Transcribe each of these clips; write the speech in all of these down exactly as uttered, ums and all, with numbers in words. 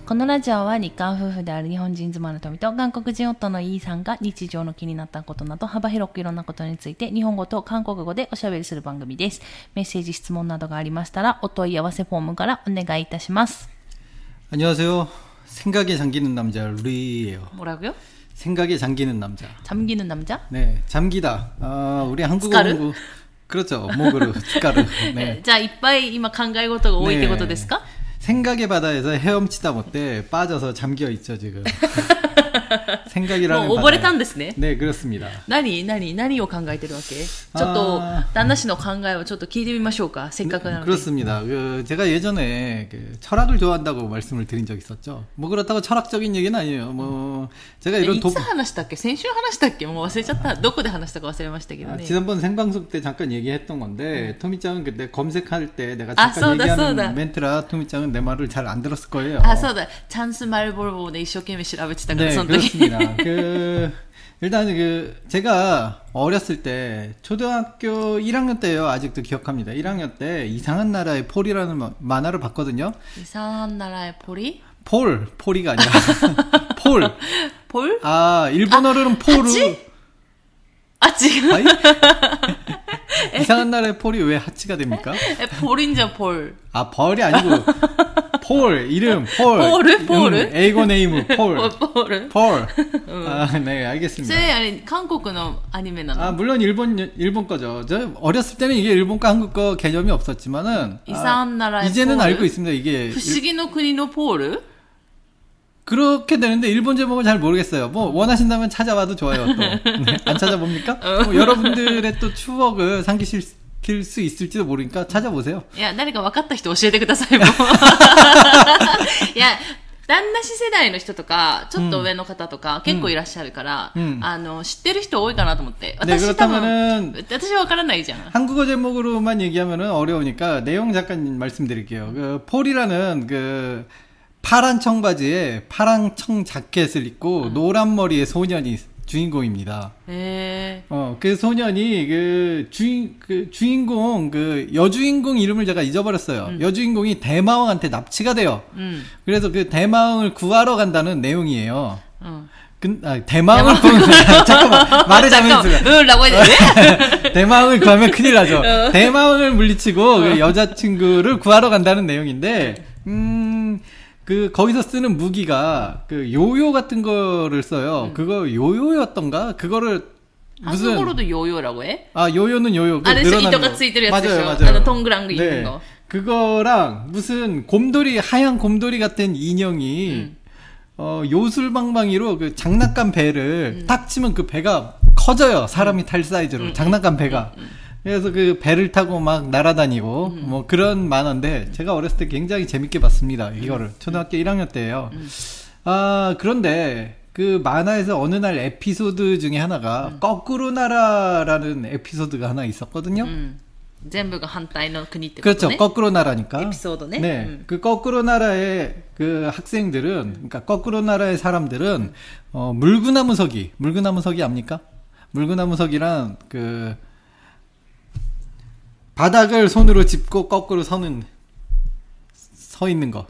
このラジオは日韓夫婦である日本人妻の富と韓国人夫のイーさんが日常の気になったことなど幅広くいろんなことについて日本語と韓国語でおしゃべりする番組です。メッセージ質問などがありましたらお問い合わせフォームからお願いいたします。 안녕하세요. 생각에 잠기는 남자 루이예요. 뭐라고요? 생각에 잠기는 남자. 잠기는 남자? 네, 잠기다. 아, 우리 한국어 공부 그렇죠. 목으로 스카르. 네. 자, 이빠이今考え事が多いってことですか? 생각의 바다에서 헤엄치다 못해 빠져서 잠겨 있죠 지금. 생각이라는 もう溺れたんですね。 네, 그렇습니다. 何何何を考えてるわけ？ちょっと旦那氏の考えをちょっと聞いてみましょうか。せっかくなので。 그렇습니다. 그 제가 예전에 그 철학을 좋아한다고 말씀을 드린 적 있었죠. 뭐 그렇다고 철학적인 얘기는 아니에요. 뭐 제가 이런 いつ話したっけ？先週話したっけ？もう忘れちゃった。どこで話したか忘れましたけどね。 아, 지난번 생방송 때 잠깐 얘기했던 건데 음. 토미짱은 그때 검색할 때 내가 잠깐 아, 얘기하는 소다. 멘트라 토미짱은 내 말을 잘 안 들었을 거예요. 아, そうだ. 찬스 말볼보 내 일생懸命 調べてたから 네, 그렇습니다. 그 일단 그 제가 어렸을 때 초등학교 일 학년 때요. 아직도 기억합니다. 일 학년 때 이상한 나라의 폴이라는 만화를 봤거든요. 이상한 나라의 폴이? 폴, 폴이가 아니라 폴. 폴? 아, 일본어로는 아, 폴을. 아, 지금? 이상한 나라의 폴이 왜 하치가 됩니까? 폴인자 폴. 아, 벌이 아니고 폴, 이름 폴. 폴을? 폴을? 음, 에이고 네이무 폴. 폴을? 폴. 아, 네, 알겠습니다. 저 아니 한국의 아니메나. 아, 물론 일본 일본 거죠. 저 어렸을 때는 이게 일본과 한국 거 개념이 없었지만은 이상한 아, 나라의 이제는 폴을? 알고 있습니다. 이게 不思議の国の 폴을? 그렇게 되는데 일본 제목을 잘 모르겠어요. 뭐 원하신다면 찾아봐도 좋아요. 또 네, 안 찾아봅니까? 뭐 여러분들의 또 추억을 상기실 수 있을지도 모르니까 찾아보세요. 야, 誰か分かった人教えてくださいもう。いや、旦那氏世代の人とかちょっと上の方とか、うん、結構いらっしゃるから、うん、あの知ってる人多いかなと思って。私多分私は分からないじゃん。 한국어 제목으로만 얘기하면은 어려우니까 내용 잠깐 말씀드릴게요. 그 폴이라는 그 파란 청바지에 파란 청 자켓을 입고 음. 노란 머리의 소년이 주인공입니다. 에... 어, 그 소년이 그 주인 그 주인공 그 여주인공 이름을 제가 잊어버렸어요. 음. 여주인공이 대마왕한테 납치가 돼요. 음. 그래서 그 대마왕을 구하러 간다는 내용이에요. 어. 그, 아, 대마왕을 구하면 잠깐만 말을 잘못했어요. 라고 해야 돼? 대마왕을 구하면 큰일 나죠. 어. 대마왕을 물리치고 어. 그 여자친구를 구하러 간다는 내용인데, 음. 그 거기서 쓰는 무기가 그 요요 같은 거를 써요. 음. 그거 요요였던가? 그거를 무슨 한국어로도 요요라고 해? 아, 요요는 요요. 그 안에 이도가 ついてるやつでしょ? 맞아요, 맞아요. 동그란 거 있는 거. 그거랑 무슨 곰돌이 하얀 곰돌이 같은 인형이 음. 어, 요술방망이로 그 장난감 배를 음. 딱 치면 그 배가 커져요. 사람이 음. 탈 사이즈로. 음. 장난감 배가. 음. 음. 그래서 그 배를 타고 막 날아다니고 음. 뭐 그런 만화인데 제가 어렸을 때 굉장히 재밌게 봤습니다. 이거를 초등학교 일 학년 때예요. 음. 아 그런데 그 만화에서 어느 날 에피소드 중에 하나가 음. 거꾸로 나라라는 에피소드가 하나 있었거든요. 음. 전부가 반대의 국이 그렇죠. 거꾸로 나라니까. 에피소드네. 네. 음. 그 거꾸로 나라의 그 학생들은 그러니까 거꾸로 나라의 사람들은 어, 물구나무 서기. 물구나무 서기 압니까? 물구나무 서기란 그 바닥을 손으로 짚고 거꾸로 서는 서 있는 거.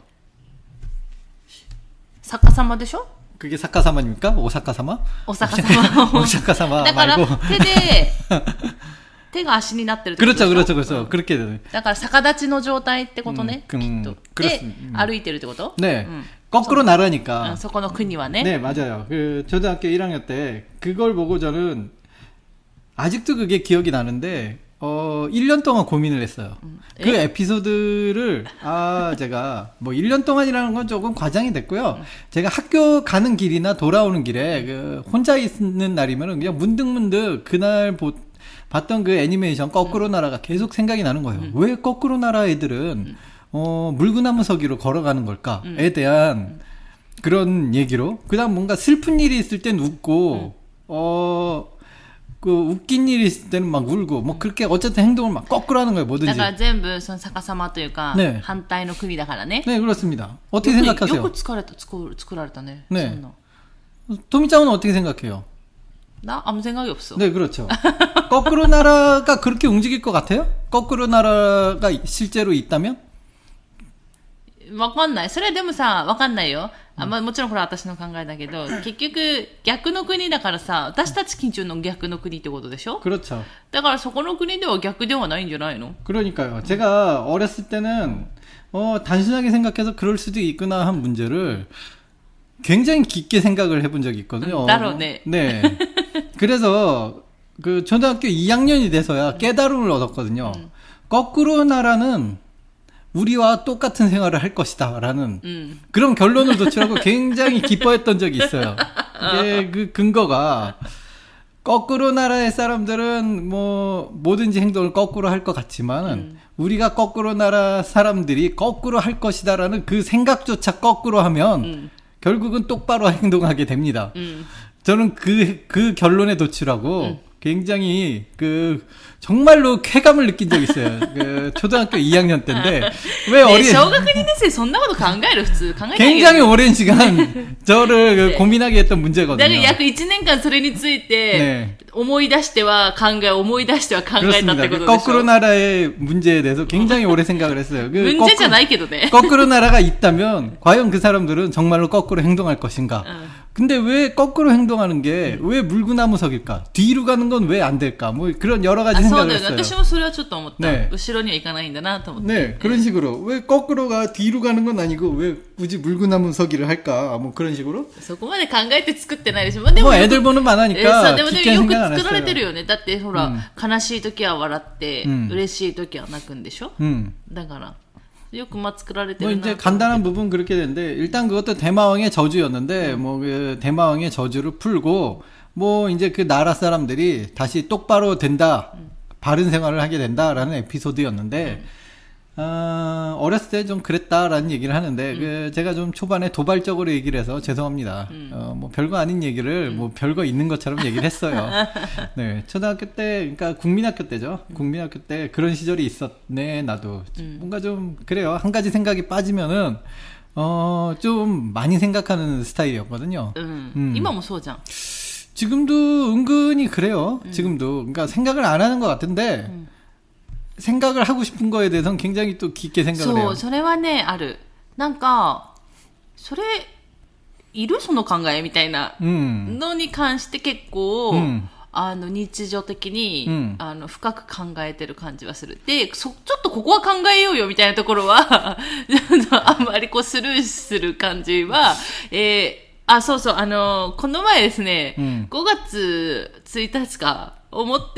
사카사마でしょ? 그게 사카사마입니까? 오사카사마? 오사카사마. 오사카사마 말고. 手で手が足になってるってことでしょ? 그렇죠, 그렇죠, 그렇죠. 그렇게 되네. だから逆立ちの状態ってことね. 음, 음, で歩いてるってこと? 네. 음. 거꾸로 나라니까. そこの国はね. 네, 맞아요. 그 초등학교 일 학년 때 그걸 보고 저는 아직도 그게 기억이 나는데 어, 일 년 동안 고민을 했어요. 음. 그 에피소드를, 아, 제가, 뭐, 일 년 동안이라는 건 조금 과장이 됐고요. 음. 제가 학교 가는 길이나 돌아오는 길에, 그, 혼자 있는 날이면은 그냥 문득문득 그날 보, 봤던 그 애니메이션 거꾸로 음. 나라가 계속 생각이 나는 거예요. 음. 왜 거꾸로 나라 애들은, 음. 어, 물구나무 서기로 걸어가는 걸까에 음. 대한 그런 얘기로. 그 다음 뭔가 슬픈 일이 있을 땐 웃고, 음. 어, 그 웃긴 일이 있을 때는 막 울고 뭐 그렇게 어쨌든 행동을 막 거꾸로 하는 거예요. 뭐든지. 그러니까 전부 사카사마というか 네. 반대의 국이だからね. 네, 그렇습니다. 어떻게 요구, 생각하세요? よく作られた作られたね. 네. 토미짱은 어떻게 생각해요? 나 아무 생각이 없어. 네, 그렇죠. 거꾸로 나라가 그렇게 움직일 것 같아요? 거꾸로 나라가 실제로 있다면? わかんない。それでもさ、わかんないよ。あまあ、もちろんこれは私の考えだけど、結局、逆の国だからさ、私たち緊張の逆の国ってことでしょ？ 그렇죠. だからそこの国では逆ではないんじゃないの? 그러니까요. 제가 어렸을 때는 어, 단순하게 생각해서 그럴 수도 있구나 한 문제를 굉장히 깊게 생각을 해본 적이 있거든요. 따로, 네. 네. 그래서 그 초등학교 이 학년이 돼서야 깨달음을 얻었거든요. 음. 거꾸로 나라는 우리와 똑같은 생활을 할 것이다 라는 음. 그런 결론을 도출하고 굉장히 기뻐했던 적이 있어요. 이게 그 근거가 거꾸로 나라의 사람들은 뭐 뭐든지 행동을 거꾸로 할 것 같지만은 음. 우리가 거꾸로 나라 사람들이 거꾸로 할 것이다라는 그 생각조차 거꾸로 하면 음. 결국은 똑바로 행동하게 됩니다. 음. 저는 그, 그 결론에 도출하고 음. 굉장히 그 정말로 쾌감을 느낀 적이 있어요. 그 초등학교 이 학년 때인데 왜 어린 小学にねん生そんなこと考える普通考えない 굉장히 오랜 시간 저를 네. 고민하게 했던 문제거든요. だから約いちねんかんそれについて思い出しては考え思い出しては考えたってことでしょ. 거꾸로 나라의 문제에 대해서 굉장히 오래 생각을 했어요. 그 문제じゃないけどね. 거꾸로 나라가 있다면 과연 그 사람들은 정말로 거꾸로 행동할 것인가? 응. 근데 왜 거꾸로 행동하는 게 왜 물구나무석일까? 뒤로 가는 건 왜 안 될까? 뭐 그런 여러 가지 생각을 했어요. 私もそれはちょっと思った. 네. 後ろには行かないんだなと思って. 네, 그런 식으로 왜 거꾸로가 뒤로 가는 건 아니고 왜 굳이 물구나무서기를 할까? 뭐 그런 식으로. そこまで考えて作ってないでしょ. でも 뭐 애들 보는 만화니까. でもでもよく作られてるよね. だってほら、悲しい時は笑って、嬉しい時は泣くんでしょ. だから。 뭐 이제 간단한 부분 그렇게 되는데 일단 그것도 대마왕의 저주였는데 음. 뭐 그 대마왕의 저주를 풀고 뭐 이제 그 나라 사람들이 다시 똑바로 된다 음. 바른 생활을 하게 된다라는 에피소드였는데 음. 어, 어렸을 때 좀 그랬다라는 얘기를 하는데 음. 그 제가 좀 초반에 도발적으로 얘기를 해서 죄송합니다. 음. 어, 뭐 별거 아닌 얘기를 음. 뭐 별거 있는 것처럼 얘기를 했어요. 네, 초등학교 때 그러니까 국민학교 때죠. 음. 국민학교 때 그런 시절이 있었네. 나도 음. 뭔가 좀 그래요. 한 가지 생각이 빠지면은 어, 좀 많이 생각하는 스타일이었거든요. 음. 음. 이마모 소장. 지금도 은근히 그래요. 음. 지금도 그러니까 생각을 안 하는 것 같은데. 음. 생각을 하고 싶은 거에 대해서는 굉장히 또 깊게 생각을 해요. そう、それはね、ある。なんか、それ、いるその考えみたいなのに関して結構、うん、あの、日常的に、うん、あの、深く考えてる感じはする。で、そ、ちょっとここは考えようよみたいなところは、あんまりこうスルーする感じは、えー、あ、そうそう、あの、この前ですね、うん、ごがつついたちか、思って、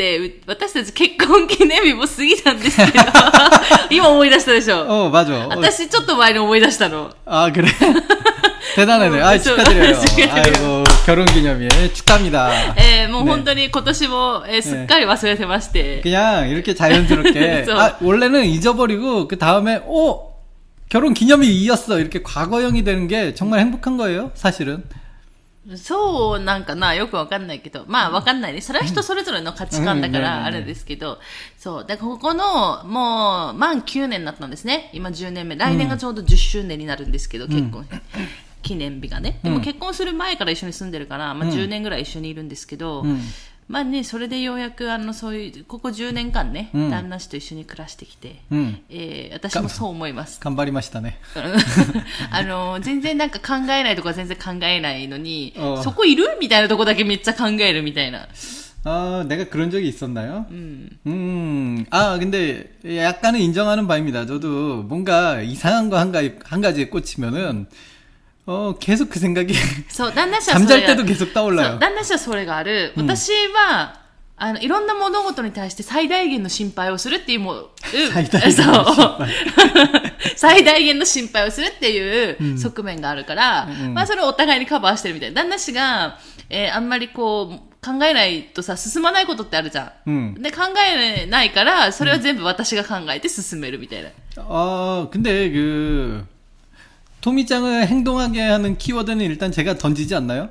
私たち結婚記念日も過ぎたんですけど、今思い出したでしょ。 お맞아。 私ちょっと前に思い出したの。 あ、그래。대단하네。あ、축하드려요。아이고、결혼기념일 축하합니다。 えー、もう本当に今年も、えー、すっかり忘れてまして。 그냥 이렇게 자연스럽게。아、 원래는 잊어버리고 그 다음에 오! 결혼기념일이었어. 이렇게 과거형이 되는 게 정말 행복한 거예요, 사실은。 そうなんかな、よくわかんないけど、まあわかんないね。それは人それぞれの価値観だからあれですけど、そう。で、ここの、もう、満きゅうねんになったんですね。今じゅうねんめ。来年がちょうどじゅっしゅうねんになるんですけど、結婚、記念日がね。でも結婚する前から一緒に住んでるから、まあじゅうねんぐらい一緒にいるんですけど、まあね、それでようやく、あの、そういう、ここじゅうねんかんね、旦那氏と一緒に暮らしてきて、えー、私もそう思います。 頑張りましたね。 あの、全然なんか考えないとか全然考えないのに、そこいるみたいなとこだけめっちゃ考えるみたいな。 아, 내가 그런 적이 있었나요? 음. 음. 아, 근데 약간은 인정하는 바입니다. 저도 뭔가 이상한 거 한 가지, 한 가지에 꽂히면은, 어, 계속 그 생각이. 잠잘 때도 계속 떠올라요. 旦那氏はそれがある。私は、あの、いろんな物事に対して最大限の心配をするっていうもう、 最大限の心配。 最大限の心配をするっていう側面があるから、うん、まあそれをお互いにカバーしてるみたいな。旦那氏が、えー、あんまりこう、考えないとさ、進まないことってあるじゃん。うん、で、考えないから、それは全部私が考えて進めるみたいな。 あ、うん、근데 그、 토미짱을 행동하게 하는 키워드는 일단 제가 던지지 않나요?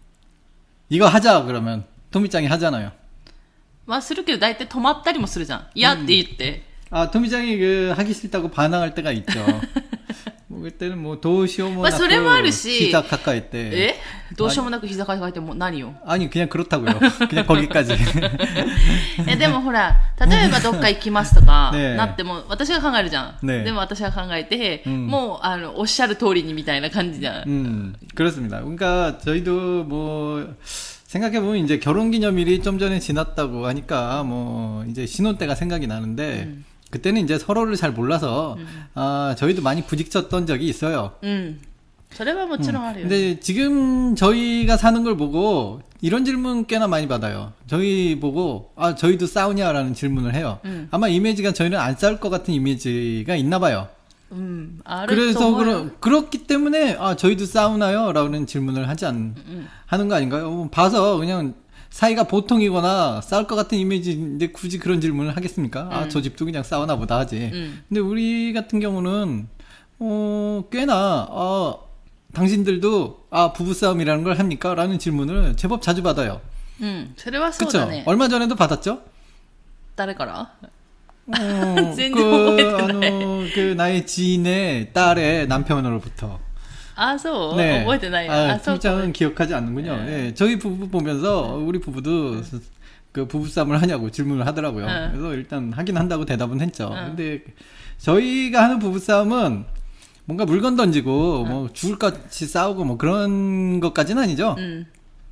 이거 하자 그러면 토미짱이 하잖아요. まあするけど大体止まったりもするじゃん。いやって言って。 아, 토미짱이 그 하기 싫다고 반항할 때가 있죠. 그때는 뭐 도시오모 まあそれもあるし、 膝抱えてえどうしようもなく膝抱えても何よ 아니 그냥 그렇다고요. 그냥 거기까지. えでもほら例えばどっか行きますとかねなっても私が考えるじゃん、 ねでも私が考えて、 うんもうあのおっしゃる通りにみたいな感じじゃん、 음, 그렇습니다. 그러니까 저희도 뭐 생각해보면 이제 결혼기념일이 좀 전에 지났다고 하니까 뭐 이제 신혼 때가 생각이 나는데 음. 그때는 이제 서로를 잘 몰라서 음. 아, 저희도 많이 부딪혔던 적이 있어요. 음. それはもちろんあるよ、 근데 지금 저희가 사는 걸 보고 이런 질문 꽤나 많이 받아요. 저희 보고 아 저희도 싸우냐라는 질문을 해요. 음. 아마 이미지가 저희는 안 싸울 것 같은 이미지가 있나 봐요. 음,あると 그래서 思うよ 그러, 그렇기 때문에 아 저희도 싸우나요? 라는 질문을 하지 않 음. 하는 거 아닌가요? 봐서 그냥 사이가 보통이거나 싸울 것 같은 이미지인데 굳이 그런 질문을 하겠습니까? 아, 저 집도 그냥 싸우나 보다 하지. 음. 근데 우리 같은 경우는 어, 꽤나 어, 당신들도 아 부부싸움이라는 걸 합니까? 라는 질문을 제법 자주 받아요. 음, それはそうだ 그쵸? ね 얼마 전에도 받았죠? 誰から 어, 전혀 그, 모르겠네. 아, 그 나의 지인의 딸의 남편으로부터. あそう、 네. 覚えてないよ 아, あそうか 팀장은 기억하지 않는군요. 네. 예, 저희 부부 보면서 우리 부부도 그 부부싸움을 하냐고 질문을 하더라고요. 네. 그래서 일단 하긴 한다고 대답은 했죠. 네. 근데 저희가 하는 부부싸움은 뭔가 물건 던지고 네. 뭐 죽을 것 같이 싸우고 뭐 그런 것까지는 아니죠. 음.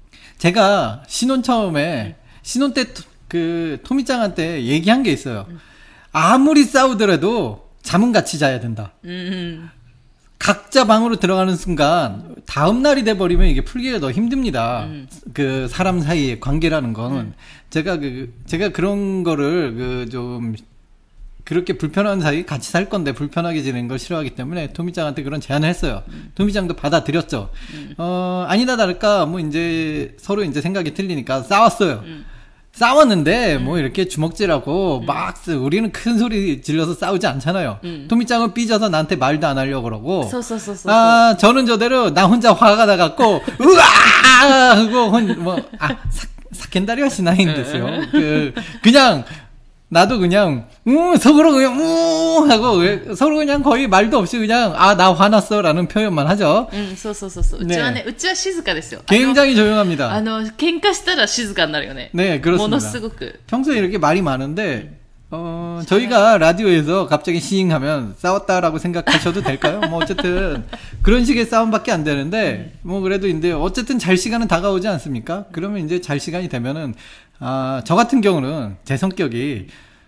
제가 신혼 처음에 신혼 때 그 토미짱한테 얘기한 게 있어요. 아무리 싸우더라도 잠은 같이 자야 된다. 음. 각자 방으로 들어가는 순간 다음 날이 돼버리면 이게 풀기가 더 힘듭니다. 음. 그 사람 사이의 관계라는 거는 음. 제가 그 제가 그런 거를 그 좀 그렇게 불편한 사이 같이 살 건데 불편하게 지내는 걸 싫어하기 때문에 토미짱한테 그런 제안을 했어요. 음. 토미짱도 받아들였죠. 음. 어 아니다 다를까 뭐 이제 서로 이제 생각이 틀리니까 싸웠어요. 음. 싸웠는데 뭐 이렇게 주먹질하고 음. 막 쓰- 우리는 큰 소리 질러서 싸우지 않잖아요. 음. 토미짱은 삐져서 나한테 말도 안 하려고 그러고 そうそうそうそう 아 저는 저대로 나 혼자 화가 나갖고 으아 하고 혼, 뭐, 아 사, 사켄다리와 시나인데스요. 그 그냥 나도 그냥 음 속으로 그냥 음 하고 왜- 서로 그냥 거의 말도 없이 그냥 아 나 화났어라는 표현만 하죠. うん、そうそうそうそう。うちはね、うちは静かですよ。 굉장히 あ 조용합니다. の、喧嘩したら静かになるよね。 네 も 그렇습니다. のすごく。 평소에 이렇게 말이 많은데 어 저희가 라디오에서 갑자기 시잉하면 싸웠다라고 생각하셔도 될까요? 뭐 어쨌든 그런 식의 싸움밖에 안 되는데 뭐 그래도 이제 어쨌든 잘 시간은 다가오지 않습니까? 그러면 이제 잘 시간이 되면은 아 저 같은 경우는 제 성격이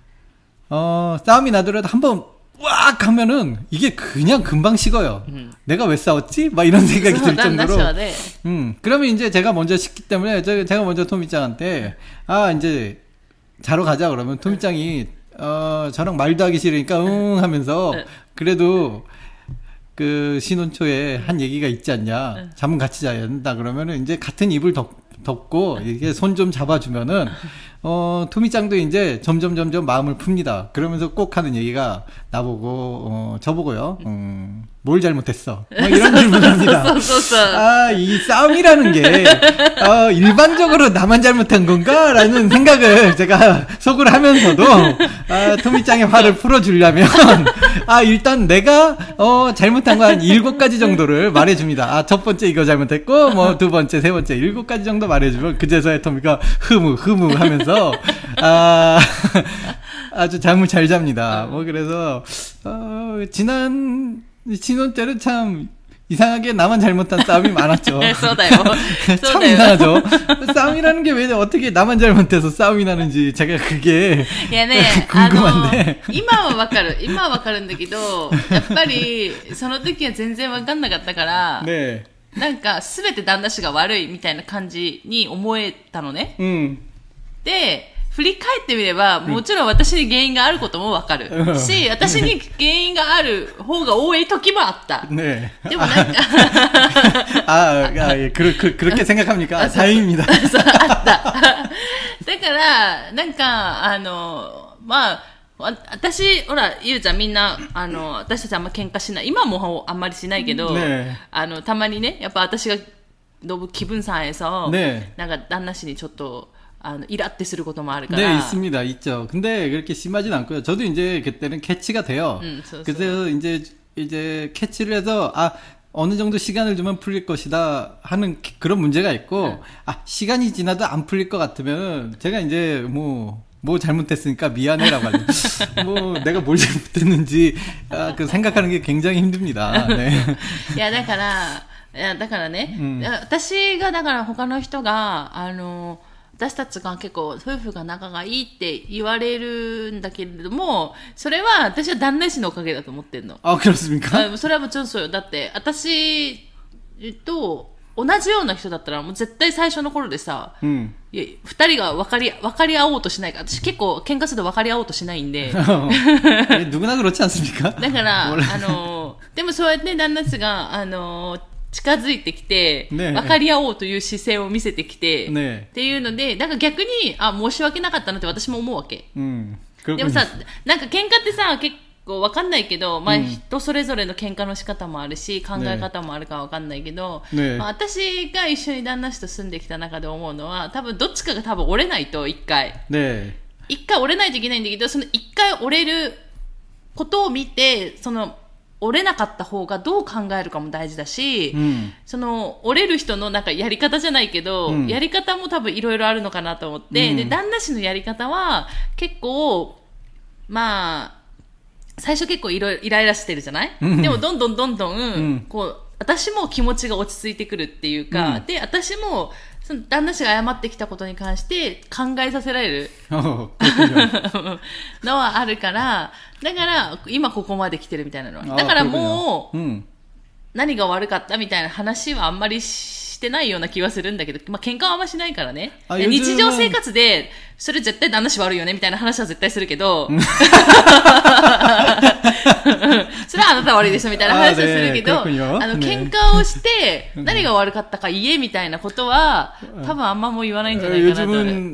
어 싸움이 나더라도 한번 왁 하면은 이게 그냥 금방 식어요. 음. 내가 왜 싸웠지? 막 이런 생각이 そう 들 旦那氏 정도로 はね、 음, 그러면 이제 제가 먼저 시키기 때문에 저- 제가 먼저 토미짱한테 아 이제 자러 가자 그러면 토미짱이 어 저랑 말도 하기 싫으니까 응 하면서 그래도 그 신혼 초에 한 얘기가 있지 않냐 잠은 같이 자야 된다 그러면은 이제 같은 이불 덮, 덮고 이게 손 좀 잡아주면은 어 토미짱도 이제 점점 점점 마음을 풉니다. 그러면서 꼭 하는 얘기가 나보고 어 저보고요. 음, 뭘 잘못했어? 뭐 이런 질문을 합니다. そうそうそう。 아, 이 싸움이라는 게, 어, 일반적으로 나만 잘못한 건가? 라는 생각을 제가 속으로 하면서도, 아, 토미짱의 화를 풀어주려면, 아, 일단 내가, 어, 잘못한 거 한 일곱 가지 정도를 말해줍니다. 아, 첫 번째 이거 잘못했고, 뭐, 두 번째, 세 번째, 일곱 가지 정도 말해주면, 그제서야 토미가 흐무, 흐무 하면서, 아, 아주 잠을 잘 잡니다. 뭐, 그래서, 어, 지난, 신혼 때는 참 이상하게 나만 잘못한 싸움이 많았죠. そうだよ。そ 참 うだよ。 이상하죠. 싸움이라는 게 왜 어떻게 나만 잘못해서 싸움이 나는지 제가 그게 いやね、あの 궁금한데 、 今はわかる。今はわかるんだけど、やっぱり、その時は全然わかんなかったから、 네. なんか、すべて旦那氏が悪いみたいな感じに思えたのね。 음. で、振り返ってみれば、もちろん私に原因があることもわかる。 うんし、私に原因がある方が多い時もあった。 네. でもなんか、 아, 아, 예. 그, 그, 그렇게 생각합니까? 아, 다행입니다. そうあった。だから、なんか、あの、まあ、わ私、ほら、ゆうちゃんみんな、あの、私たちあんま喧嘩しない。今もあんまりしないけど、 ねあの、たまにね、やっぱ私が、너무 기분 상해서, 네. なんか旦那氏にちょっと、あの、イラってすることもあるか 네, ら。 있습니다. 있죠. 근데 그렇게 심하진 않고요. 저도 이제 그때는 캐치가 돼요. 음, 저, 저. 그래서 이제 이제 캐치를 해서 아 어느 정도 시간을 주면 풀릴 것이다 하는 그런 문제가 있고 응. 아 시간이 지나도 안 풀릴 것 같으면 제가 이제 뭐 뭐 잘못했으니까 미안해라고 하죠. 뭐 내가 뭘 잘못했는지 아, 그 생각하는 게 굉장히 힘듭니다. 네. いやだからいやだからね、うん、私がだから他の人があの私たちが結構夫婦が仲がいいって言われるんだけれども、それは私は旦那氏のおかげだと思ってんの。 あ、그렇습니까？ それはもちろんそうよ。だって私と同じような人だったらもう絶対最初の頃でさ、うん、いや二人が分かり分かり合おうとしないから、私結構喧嘩すると分かり合おうとしないんで。 누구나그렇지않습니까？ だからあのでもそうやって旦那氏があの近づいてきて、ね、分かり合おうという姿勢を見せてきて、ね、っていうので、だから逆にあ申し訳なかったなって私も思うわけ。うん、でもさ、なんか喧嘩ってさ結構分かんないけど、まあ、人それぞれの喧嘩の仕方もあるし、考え方もあるか分かんないけど、ねまあ、私が一緒に旦那氏と住んできた中で思うのは、多分どっちかが多分折れないと一回、ね、一回折れないといけないんだけど、その一回折れることを見て、その折れなかった方がどう考えるかも大事だし、うん、その折れる人のなんかやり方じゃないけど、うん、やり方も多分いろいろあるのかなと思って、うん、で旦那氏のやり方は結構まあ最初結構いろいろイライラしてるじゃない、うん、でもどんどんどんどん、うん、こう私も気持ちが落ち着いてくるっていうか、うん、で私もその旦那氏が謝ってきたことに関して考えさせられるのはあるから、だから今ここまで来てるみたいなのは、だからもう、うん、何が悪かったみたいな話はあんまりしてないような気はするんだけど、まあ喧嘩はあんましないからね。日常生活でそれ絶対旦那氏悪いよねみたいな話は絶対するけどそれはあなた悪いでしょみたいな話をするけど、あ, あの喧嘩をして何が悪かったか言えみたいなことは多分あんまもう言わないんじゃないかなと。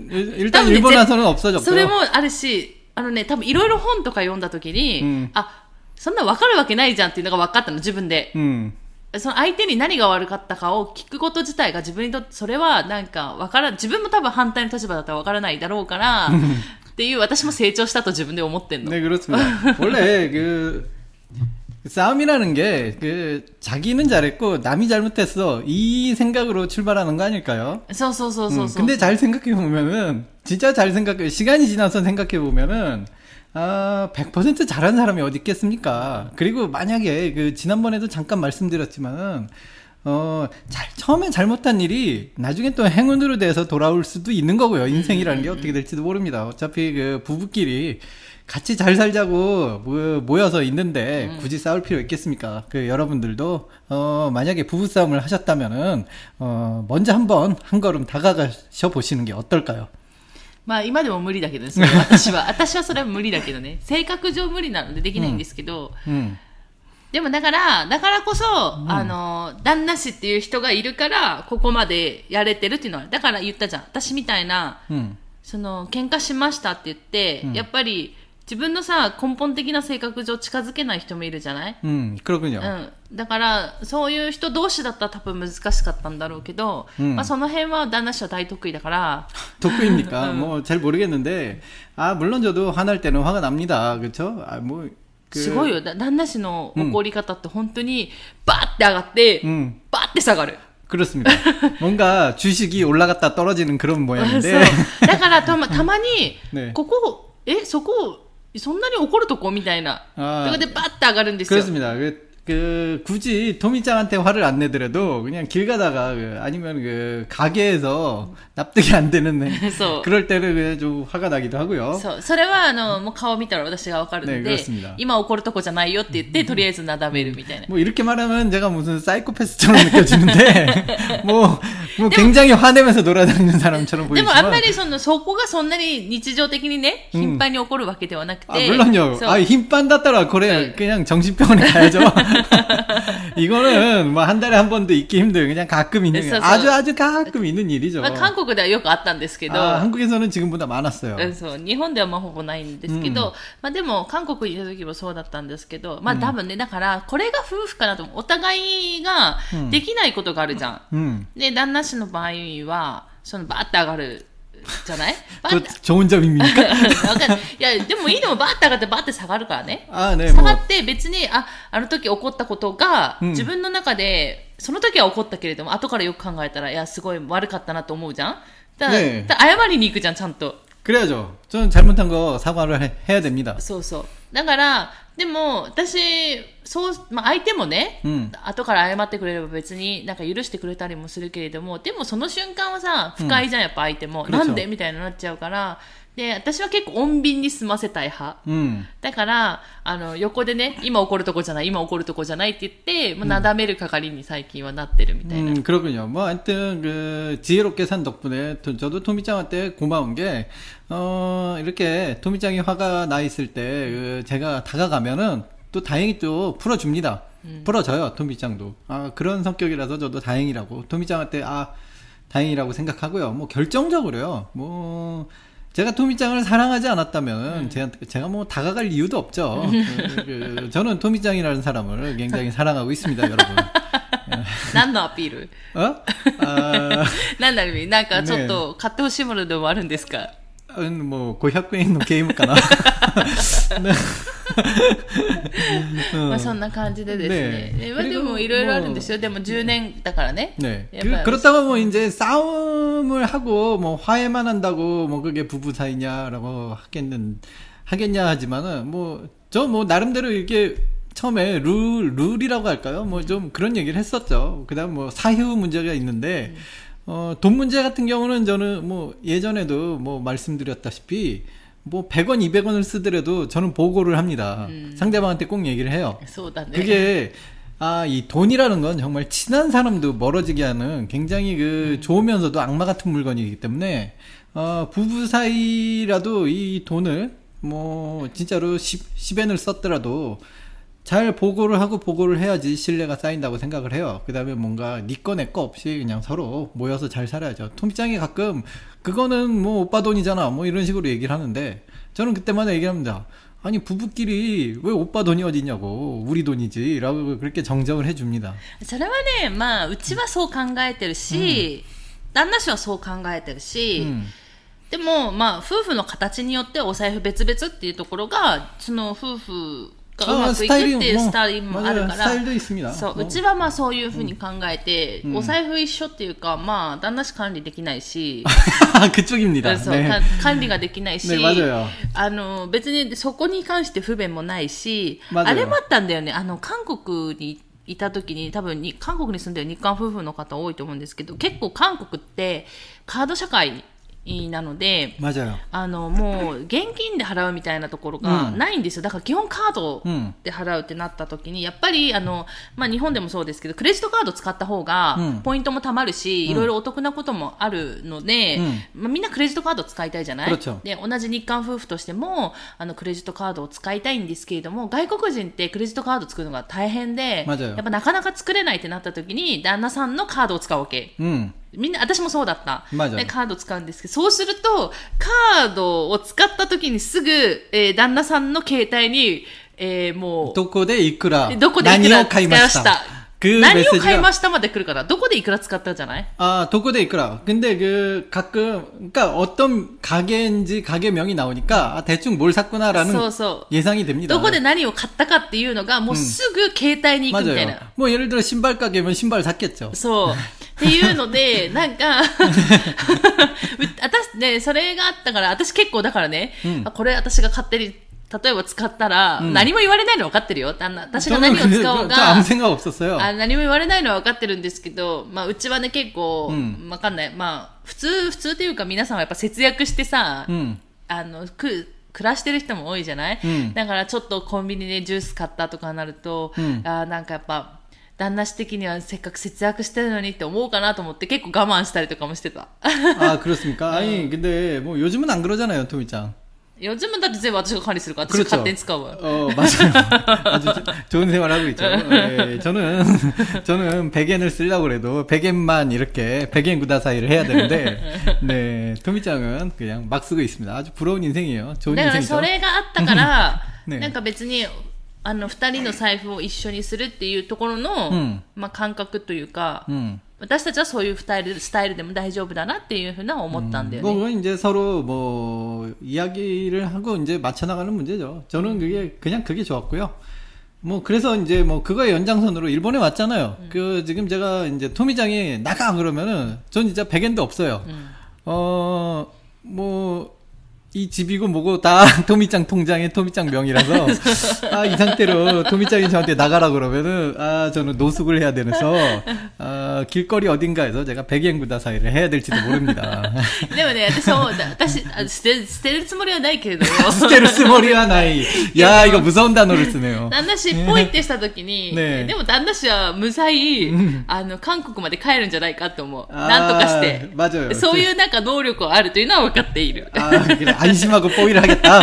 それもあるし、あのね多分いろいろ本とか読んだ時に、うん、あそんな分かるわけないじゃんっていうのが分かったの自分で、うん、その相手に何が悪かったかを聞くこと自体が自分にとってそれはなんか分からん、自分も多分反対の立場だったら分からないだろうからっていう、私も成長したと自分で思ってんの。 네 그렇습니다. 원래 그 싸움이라는 게 그 자기는 잘했고 남이 잘못했어 이 생각으로 출발하는 거 아닐까요? そうそうそうそう。 음, 근데 잘 생각해 보면은 진짜 잘 생각해 시간이 지나서 생각해 보면은 아, 백 퍼센트 잘하는 사람이 어디 있겠습니까? 그리고 만약에 그 지난번에도 잠깐 말씀드렸지만은 어, 잘 처음에 잘못한 일이 나중에 또 행운으로 돼서 돌아올 수도 있는 거고요. 인생이라는 게 어떻게 될지도 모릅니다. 어차피 그 부부끼리 같이 잘 살자고 모여서 있는데 굳이 싸울 필요 있겠습니까? 그 여러분들도 어 만약에 부부 싸움을 하셨다면은 어 먼저 한번 한 걸음 다가가셔 보시는 게 어떨까요? まあ今でも無理だけどね、それは私は私はそれは無理だけどね、性格上無理なのでできないんですけど、うんうん、でもだからだからこそ、うん、あの旦那氏っていう人がいるからここまでやれてるっていうのは、だから言ったじゃん、私みたいな、うん、その喧嘩しましたって言って、うん、やっぱり自分のさ根本的な性格上近づけない人もいるじゃない？ うん、그렇군요。 うん、だからそういう人同士だったら多分難しかったんだろうけど、うん、まあその辺は旦那氏は大得意だから。 得意입니까？ 뭐 잘 모르겠는데, 아 물론 저도 화날 때는 화가 납니다, 그렇죠? 아 뭐 그 すごいよ、旦那氏の怒り方って本当にバーって上がって、うん、バーって下がる。 그렇습니다. 뭔가 주식이 올라갔다 떨어지는 그런 모양인데. だからたまたまにここえそこそんなに怒るとこみたいな。아, 그런데 빠따 가는 데서. 그렇습니다. 그, 그 굳이 토미짱한테 화를 안 내더라도 그냥 길 가다가 그, 아니면 그 가게에서 납득이 안 되는 네. 그럴 때는 그냥 좀 화가 나기도 하고요. そう、それはあのもう顔見たら私がわかるので、 네, 그렇습니다. 今怒るとこじゃないよって言ってとりあえずなだめるみたいな。 뭐 이렇게 말하면 제가 무슨 사이코패스처럼 느껴지는데 뭐, 뭐 굉장히 화내면서 돌아다니는 사람처럼 보이지만. でもあんまりそのそこがそんなに日常的にね頻繁に起こるわけではなくて。 아, 물론요. 아, 힘반だったら 그래 그냥 정신병원에 가야죠. 이거는 뭐 한 달에 한 번도 있기 힘들어요. 그냥 가끔 있는 아주 아주 가끔 있는 일이죠. まあ韓国ではよくあったんですけど、 아, 한국에서는 지금보다 많았어요. そう、日本ではまあほぼないんですけど、 まあでも韓国にいた時もそうだったんですけど、まあ多分ね、だからこれが夫婦かなと思う。お互いができないことがあるじゃん。うん、で旦那氏の場合はそのバーって上がるじゃない 그 좋은 점입니까? わかんない。いや、でもいいのもバーって上がってバーって下がるからね。 あね、 下がって別に、あ、あの時起こったことが、 うん自分の中で、その時は起こったけれども、後からよく考えたら、いや、すごい悪かったなと思うじゃんだから、 ねえだから謝りに行くじゃん、ちゃんと。 그래야죠. 저는 잘못한 거 사과를 해, 해야 됩니다. そうそう。だから、でも、私、そう、まあ、相手もね、 うん後から謝ってくれれば別になんか許してくれたりもするけれども、でもその瞬間はさ、不快じゃん、やっぱ相手も。 うんなんでみたいになっちゃうから、で、私は結構穏便に済ませたい派。 음. だから、あの、横でね、今怒るとこじゃない、今怒るとこじゃないって言って、もうなだめる係に最近はなってるみたいな。 음, 그렇군요. 뭐, 하여튼, 그, 지혜롭게 산 덕분에, 도, 저도 토미짱한테 고마운 게, 어, 이렇게 토미짱이 화가 나 있을 때, 그, 제가 다가가면은, 또 다행히 또 풀어줍니다. 음. 풀어줘요, 토미짱도. 아, 그런 성격이라서 저도 다행이라고. 토미짱한테, 아, 다행이라고 생각하고요. 뭐, 결정적으로요. 뭐, 제가 토미짱을 사랑하지 않았다면, 음. 제가, 제가 뭐, 다가갈 이유도 없죠. 그, 그, 저는 토미짱이라는 사람을 굉장히 사랑하고 있습니다, 여러분. 何のアピールああ何の意味なんかちょっと買ってほしいものでもあるんですか、 うんもうごひゃくえんのゲームかな、 まあそんな感じでですね。ねでもいろいろあるんですよ。でもじゅうねんだからね。 네. 그, 그렇다고 뭐 이제 싸움을 하고 뭐 화해만 한다고 뭐 그게 부부 사이냐라고 하겠는 하겠냐 하지만은 뭐 저 뭐 나름대로 이게 처음에 룰 룰이라고 할까요? 뭐 좀 그런 얘기를 했었죠. 그다음 뭐 사휴 문제가 있는데 음. 어, 돈 문제 같은 경우는 저는 뭐 예전에도 뭐 말씀드렸다시피 뭐 백 원, 이백 원을 쓰더라도 저는 보고를 합니다. 음. 상대방한테 꼭 얘기를 해요. そうだね。 그게 아, 이 돈이라는 건 정말 친한 사람도 멀어지게 하는 굉장히 그 좋으면서도 악마 같은 물건이기 때문에 어, 부부 사이라도 이 돈을 뭐 진짜로 십 엔을 썼더라도 잘 보고를 하고 보고를 해야지 신뢰가 쌓인다고 생각을 해요. 그 다음에 뭔가 니 거 내 거 없이 그냥 서로 모여서 잘 살아야죠. 토미짱이 가끔 그거는 뭐 오빠 돈이잖아 뭐 이런 식으로 얘기를 하는데 저는 그때마다 얘기합니다. 아니 부부끼리 왜 오빠 돈이 어디냐고 우리 돈이지 라고 그렇게 정정을 해줍니다. それはね、まあうちはそう考えてるし、旦那氏はそう考えてるし、 음. でもまあ夫婦の形によってお財布別々っていうところがその夫婦がうまくいくっていうスタイルもあるから、そう、うちはまあそういうふうに考えて、お財布一緒っていうか、まあ旦那氏管理できないし、 그쪽입니다. そう、 네. 管理ができないし、 네, 맞아요. あの別にそこに関して不便もないし、あれもあったんだよね。あの韓国にいた時に多分に韓国に住んでる日韓夫婦の方多いと思うんですけど、結構韓国ってカード社会なので、 맞아요. あのもう現金で払うみたいなところがないんですよ。だから基本カードで払うってなった時に、やっぱりあの、まあ、日本でもそうですけどクレジットカード使った方がポイントも貯まるし、いろいろお得なこともあるので、まあ、みんなクレジットカード使いたいじゃない。で同じ日韓夫婦としてもあのクレジットカードを使いたいんですけれども、外国人ってクレジットカード作るのが大変で、やっぱなかなか作れないってなった時に旦那さんのカードを使うわけ。うん、みんな、私もそうだった。で、カード使うんですけど、そうすると、カードを使った時にすぐ、えー、旦那さんの携帯に、えー、もう、 どこでいくら、 どこでいくら使いました。 그 何を買いましたまで来るから、どこでいくら使ったじゃない? 아, 도코데 이끌어. 근데 그 가끔 그러니까 어떤 가게인지 가게명이 나오니까 아, 대충 뭘 샀구나라는 そうそう 예상이 됩니다. どこで何を買ったかっていうのがもうすぐ携帯に行くみたいな。 맞아요. 뭐 예를 들어 신발 가게면 신발 샀겠죠. そうっていうのでなんか私ねそれがあったから私結構だからね、うん、これ私が勝手に 例えば使ったら、うん、何も言われないの分かってるよ。私が何を使おうが、 아무 생각 없었어요. あ何も言われないのは分かってるんですけど、まあうちはね結構、うん、分かんない。まあ普通普通っていうか皆さんはやっぱ節約してさ、うん、あのく暮らしてる人も多いじゃない。うん、だからちょっとコンビニでジュース買ったとかなると、うん、あなんかやっぱ旦那氏的にはせっかく節約してるのにって思うかなと思って結構我慢したりとかもしてた。 あ、그렇습니까? 아니 근데 뭐 요즘은 안 그러잖아요, 토미짱. 요즘은 다全部私が管理するから私が勝手に使うわ. 어, 맞아요. 아주 좋은 생활하고 있죠. 네, 저는 저는 백 엔을 쓰려고 그래도 백 엔만 이렇게 백 엔 구다사이를 해야 되는데, 네, 토미짱은 그냥 막 쓰고 있습니다. 아주 부러운 인생이에요. 좋은 인생이죠. それがあったから、なんか別にあの二人の財布を一緒にするっていうところの、うん、まあ感覚というか、うん、 私たちはそういうスタイル、スタイルでも大丈夫だなっていうふうな思ったんだよね。 음, 뭐 이제 서로 뭐 이야기를 하고 이제 맞춰 나가는 문제죠. 저는 그게 그냥 그게 좋았고요. 뭐 그래서 이제 뭐 그거의 연장선으로 일본에 왔잖아요. 음. 그 지금 제가 이제 토미장이 나가 그러면은 전 진짜 백엔도 없어요. 음. 어 뭐 이 집이고 뭐고 다 토미짱 통장에 토미짱 명이라서 아, 이 상태로 토미짱이 저한테 나가라 그러면은 아, 저는 노숙을 해야 되면서 아, 길거리 어딘가에서 제가 백엔구다 사이를 해야 될지도 모릅니다. でもね、私も私捨て捨てるつもりはないけれども、 捨てるつもりはない。야, 이거 무서운 단어를 쓰네요. 旦那氏ポイってした時に、ね、でも旦那氏は無罪、あの韓国まで帰るんじゃないかと思う。なんとかして、맞아요. そういうなんか能力があるというのは分かっている。 あ、그래. 안심하고 뽀이를 하겠다.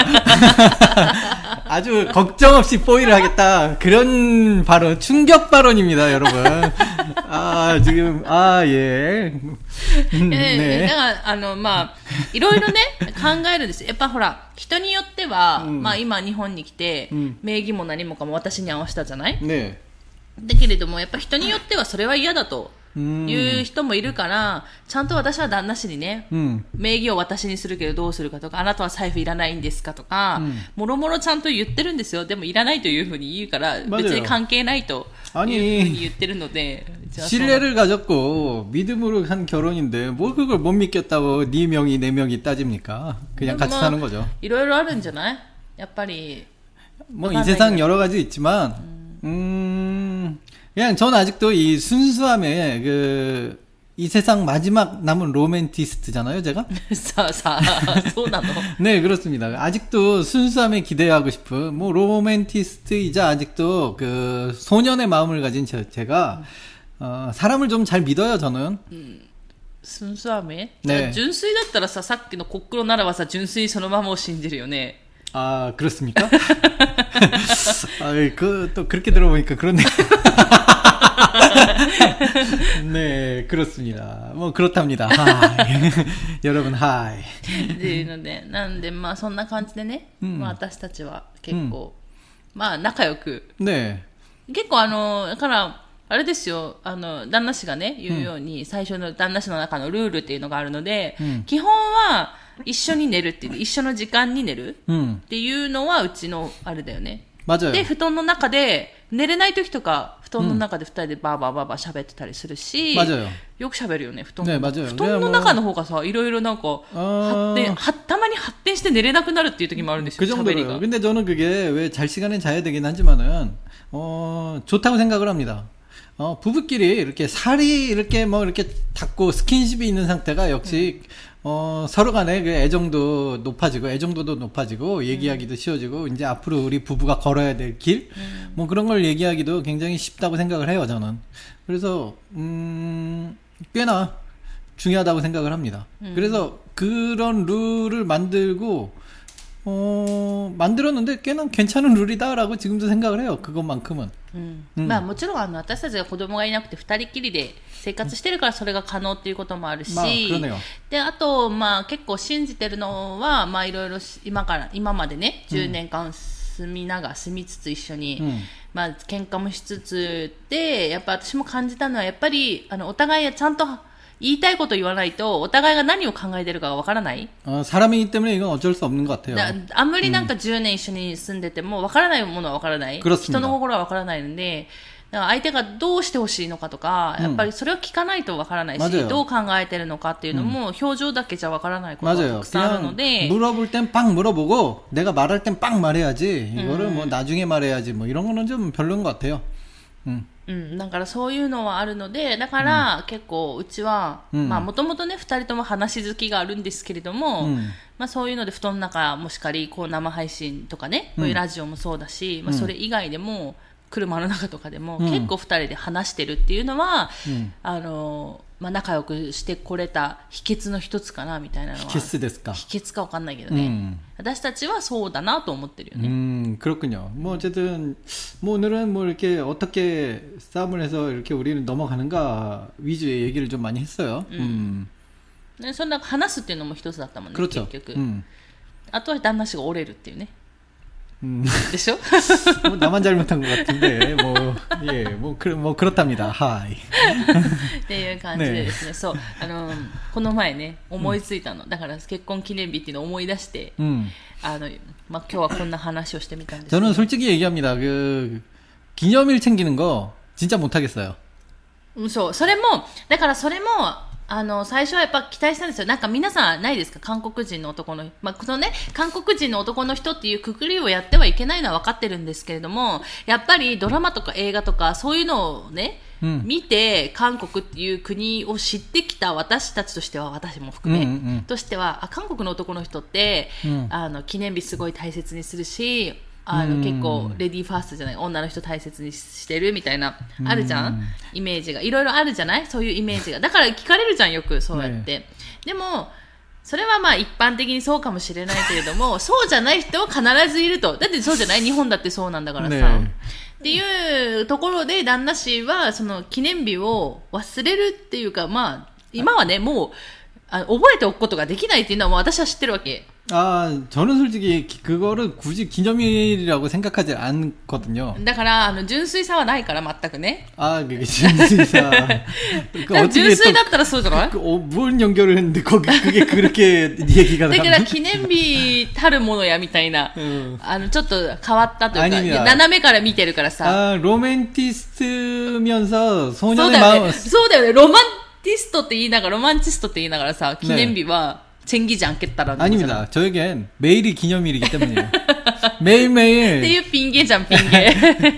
아주 걱정 없이 뽀이를 하겠다. 그런 발언, 충격 발언입니다, 여러분. 아, 지금, 아, 예. 음, 네. だからあのまあいろいろね考えるんです。やっぱほら人によっては、うん、まあ今日本に来て、うん、名義も何もかも私に合わせたじゃない。ね。だけれどもやっぱ人によってはそれは嫌だと。いう人もいるから、ちゃんと私は旦那氏にね、うん、名義を私にするけどどうするかとか、あなたは財布いらないんですかとか、うん、もろもろちゃんと言ってるんですよ。でもいらないというふうに言うから、別に関係ないというふうに言ってるので。 신뢰를 가졌고 믿음으로 한 결혼인데 뭘 그걸 못 믿겠다고 네 명이 내 명이 따집니까? 그냥 같이 사는 거죠. いろいろあるんじゃない？やっぱり。 뭐 이 세상 여러 가지 있지만, 음, 음 그냥 전 아직도 이 순수함에 그, 이 세상 마지막 남은 로맨티스트잖아요, 제가? 사, 사, 소나노. 네, 그렇습니다. 아직도 순수함에 기대하고 싶은, 뭐, 로맨티스트이자 아직도 그, 소년의 마음을 가진 제, 제가, 어, 사람을 좀 잘 믿어요, 저는. 음, 순수함에? 네.純粋だったらさ、さっきのコックロならばさ、純粋そのままを信じるよね. 아, 그렇습니까? 아, 그, 또 그렇게 들어보니까 그렇네. 네, 그렇습니다. 뭐, 그렇답니다. 하이. 여러분, 하이. っていうので、なんで、まあ、そんな感じでね、うん、まあ、私たちは結構、うん、まあ、仲良く。ね。結構、あの、だから、あれですよ、あの、旦那氏がね、言うように、うん、最初の旦那氏の中のルールっていうのがあるので、うん、基本は、一緒に寝るっていう、一緒の時間に寝るっていうのはうちのあれだよね。맞아요。で、布団の中で、寝れない時とか、布団の中で二人でバーバーバーバー喋ってたりするし、맞아요。よく喋るよね、布団の中。ね、布団の中の方がさ、いろいろなんか、発展、は、たまに発展して寝れなくなるっていう時もあるんですよ、喋りが。 근데 저는 그게 왜 잘 시간에 자야 되긴 하지만은, 어, 좋다고 생각을 합니다. 어, 부부끼리 이렇게 살이 이렇게 뭐 이렇게 닿고 스킨십이 있는 상태가 역시, 음. 어, 서로 간에 그 애정도 높아지고, 애정도도 높아지고, 얘기하기도 음. 쉬워지고, 이제 앞으로 우리 부부가 걸어야 될 길? 음. 뭐 그런 걸 얘기하기도 굉장히 쉽다고 생각을 해요, 저는. 그래서, 음, 꽤나 중요하다고 생각을 합니다. 음. 그래서 그런 룰을 만들고, 어, 만들었는데 꽤나 괜찮은 룰이다라고 지금도 생각을 해요. 그것만큼은. 음. 음. まあもちろんあの私たちが子供がいなくて二人きりで生活してるからそれが可能っていうこともあるし、まあ、であとまあ結構信じてるのはまあいろいろ今から今までねじゅうねんかん住みながら住みつつ一緒に、うん、まあ喧嘩もしつつでやっぱ私も感じたのはやっぱりあのお互いちゃんと言いたいこと言わないとお互いが何を考えてるかがわからない。 사람이기 때문에 이건 어쩔 수 없는 것 같아요. あんまりなんかじゅうねん一緒に住んでてもわからないものはわからない。人の心はわからないので、だから相手がどうしてほしいのかとか、やっぱりそれを聞かないとわからないし、うん、どう考えてるのかっていうのも表情だけじゃわからないことがたくさんあるので。 물어볼 땐 빵 물어보고 내가 말할 땐 빵 말해야지. 이거를 뭐 나중에 말해야지. 뭐 이런 거는 좀 별로인 것 같아요. 음. うん、だからそういうのはあるので、だから結構うちは、うん、まあもともとね二人とも話好きがあるんですけれども、うん、まあそういうので布団の中もしかりこう生配信とかね、こういうラジオもそうだし、うん、まあそれ以外でも車の中とかでも結構二人で話してるっていうのは、うん、あのまあ仲良くしてこれた秘訣の一つかなみたいなのは。 秘訣ですか。 秘訣かわかんないけどね、うん。私たちはそうだなと思ってるよね。 음, 그렇군요. 뭐 어쨌든 뭐 오늘은 뭐 이렇게 어떻게 싸움을 해서 이렇게 우리는 넘어가는가 위주의 얘기를 좀 많이 했어요. 음. 음. そんな話すっていうのも一つだったもんね。 그렇죠. 結局。うん。あとは旦那氏が折れるっていうね。 음. でしょ? 뭐 나만 잘못한 것 같은데 뭐 뭐, 예, 뭐, 그, 뭐, 그렇답니다. 하이. っていう感じでですね、そう、あの、この前ね、思いついたの。だから結婚記念日っていうのを思い出して、うん、あの、まあ、今日はこんな話をしてみたんですけど。 저는 솔직히 얘기합니다. 그, 기념일 챙기는 거, 진짜 못하겠어요. そう、それも、だからそれも、あの、最初はやっぱ期待したんですよ。なんか皆さんないですか？韓国人の男の、まあ、このね、韓国人の男の人っていうくくりをやってはいけないのは分かってるんですけれども、やっぱりドラマとか映画とかそういうのをね、うん、見て韓国っていう国を知ってきた私たちとしては、私も含め、うんうんうん、としては、あ、韓国の男の人って、うん、あの、記念日すごい大切にするし、あの結構レディーファーストじゃない、女の人大切にしてるみたいなあるじゃん、イメージがいろいろあるじゃない、そういうイメージが。だから聞かれるじゃん、よくそうやって、ね、でもそれはまあ一般的にそうかもしれないけれども、そうじゃない人は必ずいると。だってそうじゃない、日本だってそうなんだからさ、ね、っていうところで旦那氏はその記念日を忘れるっていうか、まあ今はねもうあ覚えておくことができないっていうのはもう私は知ってるわけ。 아, 저는 솔직히 그거를 굳이 기념일이라고 생각하지 않거든요. だからあの純粋さはないから全くね。 아, 그게純粋さ. 그러니까純粋だったらそうじゃない? 어, 뭘 연결을 했는데 거기 그게 그렇게 얘기가 나왔나? だから記念日たるものやみたいな、あのちょっと変わったというか、斜めから見てるからさ。 아, 로맨티스트면서 소년의 마음. そうだよね。ロマンティストって言いながら、ロマンチストって言いながらさ、記念日は 챙기지 않겠다라는 아닙니다. 저에겐 매일이 기념일이기 때문이에요. 매일매일. っていうピンゲじゃん、ピンゲ.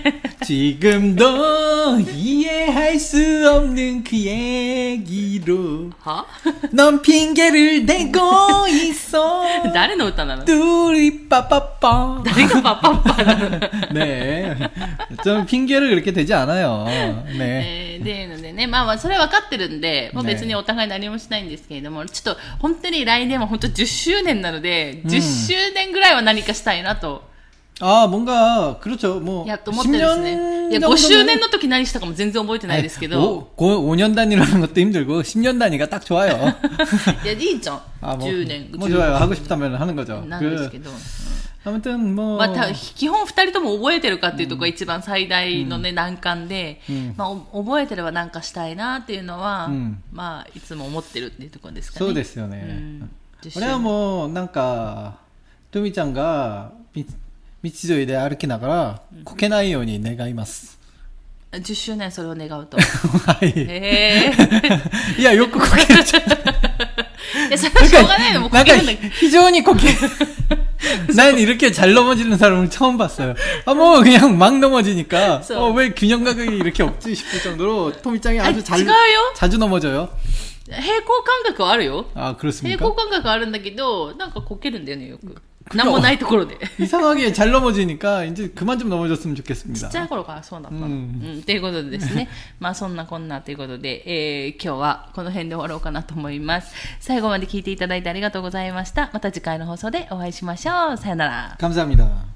지금도 이해할 수 없는 그 얘기로 넌 핑계를 대고 있어. 誰の歌なの? 뚜리 빠빠빠. 誰がパパッパなの? 네. 좀 핑계를 그렇게 대지 않아요. 네. でいうのでね、まあまあそれは分かってるんで、まあ、別にお互い何もしないんですけれども、ちょっと本当に来年は本当じゅっしゅうねんなので、じゅっしゅうねんぐらいは何かしたいなと。 아, 뭔가 그렇죠. 뭐 십 년, 야, 오周年の時何したかも全然覚えてないですけど。 오 년 단위라는 것도 힘들고 십 년 단위가 딱 좋아요. 야, いいじゃん. 아, 뭐, 십年. 뭐 좋아요. 하고 싶다면 하는 거죠. 그, 아무튼 뭐. まあ、基本二人とも覚えてるかっていうところが一番最大のね、難関で、まあ、覚えてればなんかしたいなっていうのは、まあ、いつも思ってるっていうところですかね。 そうですよね。俺はもう、なんか、トミちゃんが、道沿いで歩きながら、こけないように願います。 じゅっしゅうねんそれを願うと。 はい。 へー。いや、よくこけるじゃん。いや、それはしょうがないの。もうこけるんだけど。 非常にこける. 난 이렇게 잘 넘어지는 사람을 처음 봤어요. 아, 뭐, 그냥 막 넘어지니까. 어, 왜 균형감각이 이렇게 없지 싶을 정도로 토미짱이 아주 잘, 자주 넘어져요. 平行感覚はあるよ。 아, 그렇습니까? 平行感覚はあるんだけど、なんかこけるんだよね、よく。なんもないところで。 이상하게 잘 넘어지니까 이제 그만 좀 넘어졌으면 좋겠습니다. ちっちゃい頃からそうだった。うん。ということでですね。まあそんなこんなということで、えー、今日はこの辺で終わろうかなと思います。最後まで聞いていただいてありがとうございました。また次回の放送でお会いしましょう。さよなら。 감사합니다.